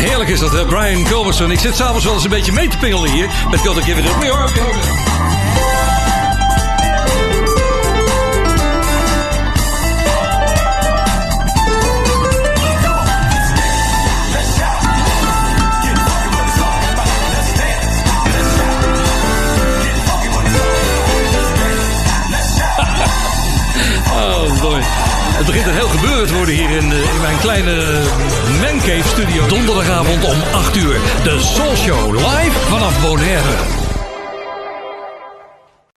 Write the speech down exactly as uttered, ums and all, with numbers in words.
Heerlijk is dat, hè? Brian Culbertson. Ik zit s'avonds wel eens een beetje mee te pingelen hier met Gotta Give It Up. We are Oh boy. Het begint een heel gebeuren te worden hier in, in mijn kleine Mancave studio. Donderdagavond om acht uur. De Soul Show live vanaf Bonaire.